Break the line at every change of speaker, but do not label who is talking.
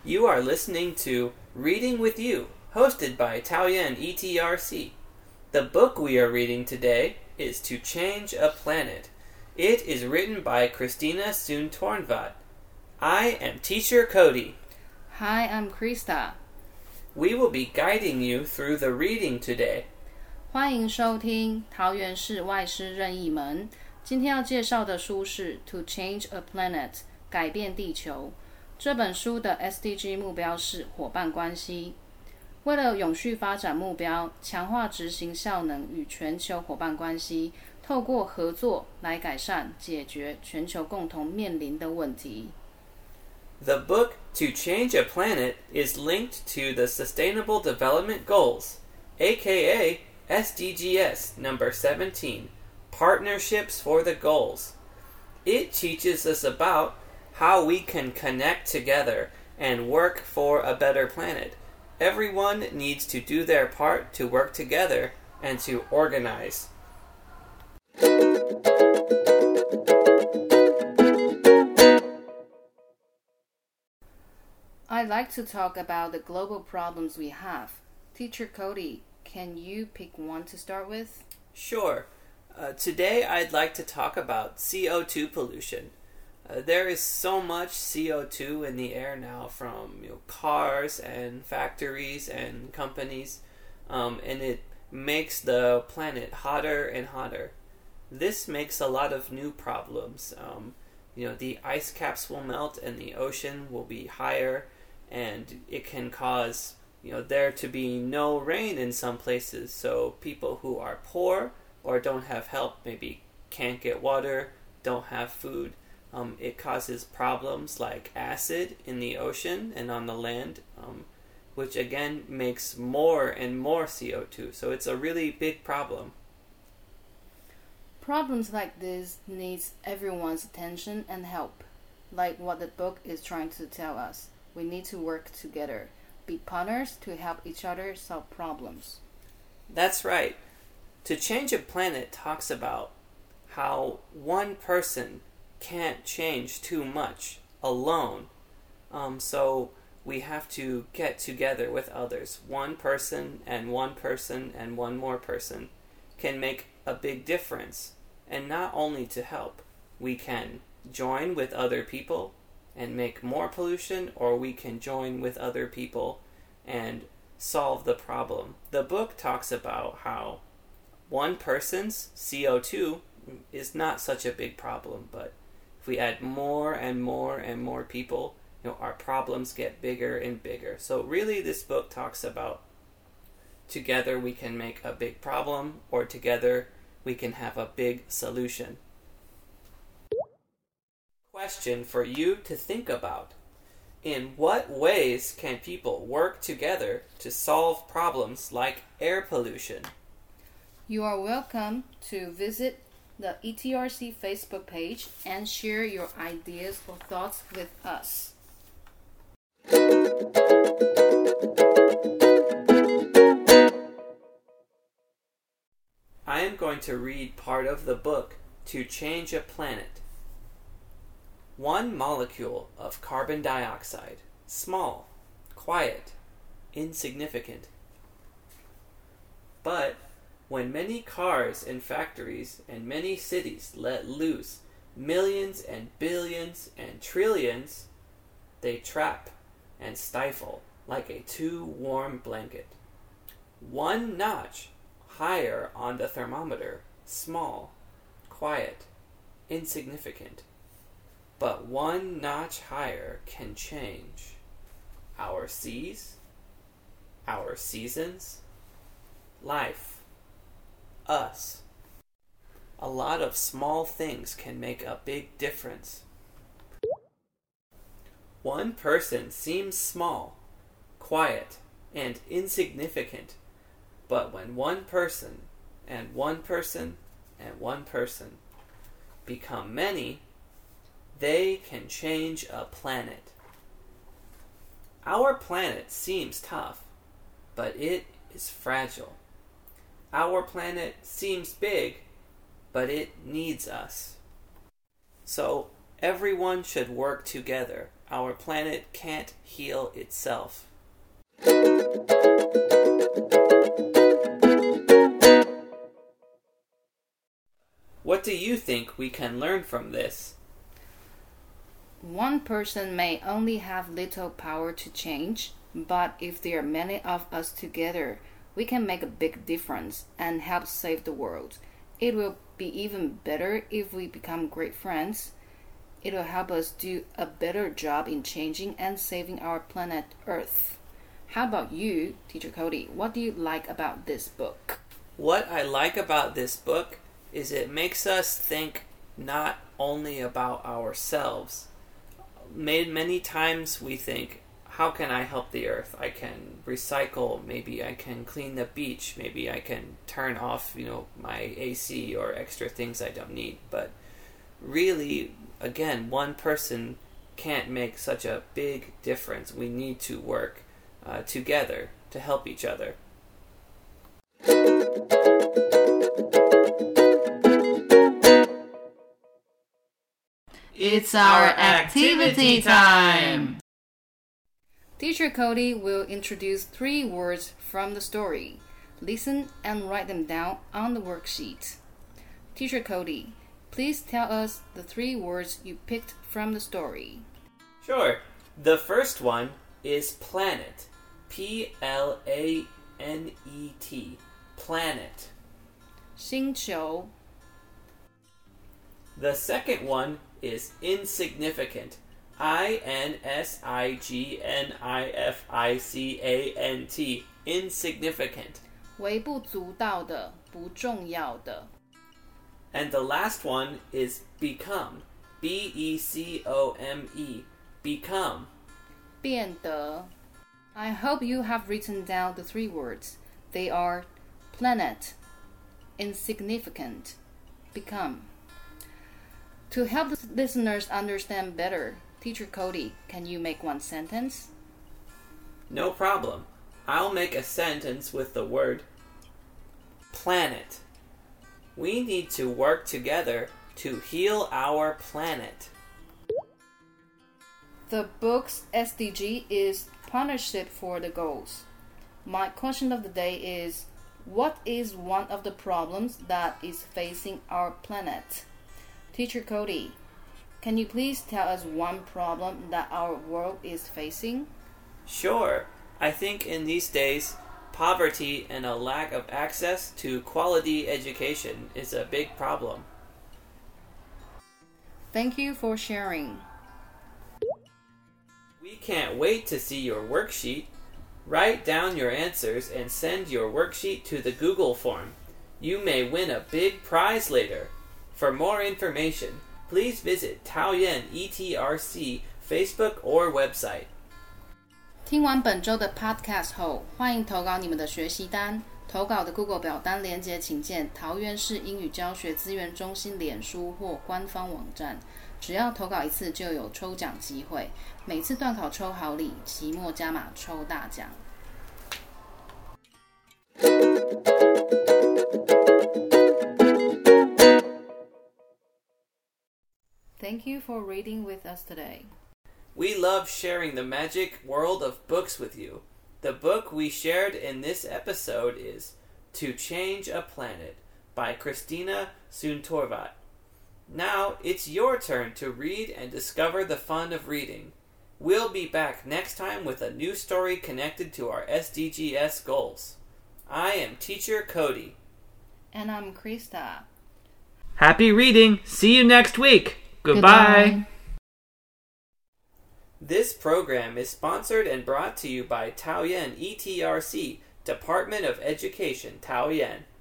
You are listening to Reading with You, hosted by Taoyuan ETRC. The book we are reading today is To Change a Planet. It is written by Christina Soon Tornvad. I am Teacher Cody.
Hi, I'm Krista.
We will be guiding you through the reading today.
欢迎收听桃园市外师任意门。今天要介绍的书是 To Change a Planet 改变地球。这本书的 SDG 目标是伙伴关系。为了永续发展目标，强化执行效能与全球伙伴关系，透过合作来改善解决全球共同面临的问题。
The book To Change a Planet is linked to the Sustainable Development Goals, aka SDGs number 17, Partnerships for the Goals. It teaches us about how we can connect together and work for a better planet. Everyone needs to do their part to work together and to organize.
I'd like to talk about the global problems we have. Teacher Cody, can you pick one to start with?
Sure. Today I'd like to talk about CO2 pollution. There is so much CO2 in the air now from cars and factories and companies, and it makes the planet hotter and hotter. This makes a lot of new problems. The ice caps will melt and the ocean will be higher, and it can cause there to be no rain in some places, so people who are poor or don't have help maybe can't get water, don't have food. It causes problems like acid in the ocean and on the land, which again makes more and more CO2. So it's a really big problem.
Problems like this needs everyone's attention and help. Like what the book is trying to tell us. We need to work together, be partners to help each other solve problems.
That's right. To Change a Planet talks about how one person can't change too much alone. So we have to get together with others. One person and one person and one more person can make a big difference. And not only to help, we can join with other people and make more pollution, or we can join with other people and solve the problem. The book talks about how one person's CO2 is not such a big problem, but if we add more and more and more people, our problems get bigger and bigger. So really this book talks about together we can make a big problem, or together we can have a big solution. Question for you to think about. In what ways can people work together to solve problems like air pollution?
You are welcome to visit the ETRC Facebook page and share your ideas or thoughts with us.
I am going to read part of the book To Change a Planet. One molecule of carbon dioxide, small, quiet, insignificant. But when many cars and factories and many cities let loose millions and billions and trillions, they trap and stifle like a too warm blanket. One notch higher on the thermometer, small, quiet, insignificant. But one notch higher can change our seas, our seasons, life, us. A lot of small things can make a big difference. One person seems small, quiet, and insignificant, but when one person and one person and one person become many, they can change a planet. Our planet seems tough, but it is fragile. Our planet seems big, but it needs us. So everyone should work together our planet can't heal itself. What do you think we can learn from this?
One person may only have little power to change, but if there are many of us together, we can make a big difference and help save the world. It will be even better if we become great friends. It will help us do a better job in changing and saving our planet Earth. How about you, Teacher Cody? What do you like about this book?
What I like about this book is it makes us think not only about ourselves. Many times we think, how can I help the earth? I can recycle, maybe I can clean the beach, maybe I can turn off, my AC or extra things I don't need. But really, again, one person can't make such a big difference. We need to work together to help each other.
It's our activity time!
Teacher Cody will introduce 3 words from the story. Listen and write them down on the worksheet. Teacher Cody, please tell us the 3 words you picked from the story.
Sure. The first one is planet. Planet. Planet.
星球
The second one is insignificant. Insignificant. Insignificant.
微不足道的，不重要的。
And the last one is become. Become. Become.
变得 I hope you have written down the 3 words. They are planet, insignificant, become. To help the listeners understand better, Teacher Cody, can you make one sentence?
No problem. I'll make a sentence with the word planet. We need to work together to heal our planet.
The book's SDG is Partnership for the Goals. My question of the day is, what is one of the problems that is facing our planet? Teacher Cody, can you please tell us one problem that our world is facing?
Sure. I think in these days, poverty and a lack of access to quality education is a big problem.
Thank you for sharing.
We can't wait to see your worksheet. Write down your answers and send your worksheet to the Google form. You may win a big prize later. For more information, please visit Taoyuan ETRC Facebook or website.
听完本周的 podcast 后，欢迎投稿你们的学习单。投稿的 Google 表单连结请见桃园市英语教学资源中心脸书或官方网站。只要投稿一次就有抽奖机会，每次段考抽好礼，期末加码抽大奖。Thank you for reading with us today.
We love sharing the magic world of books with you. The book we shared in this episode is To Change a Planet by Christina Soontorvat. Now it's your turn to read and discover the fun of reading. We'll be back next time with a new story connected to our SDGs goals. I am Teacher Cody.
And I'm Krista.
Happy reading! See you next week! Goodbye. This program is sponsored and brought to you by Taoyuan ETRC, Department of Education, Taoyuan.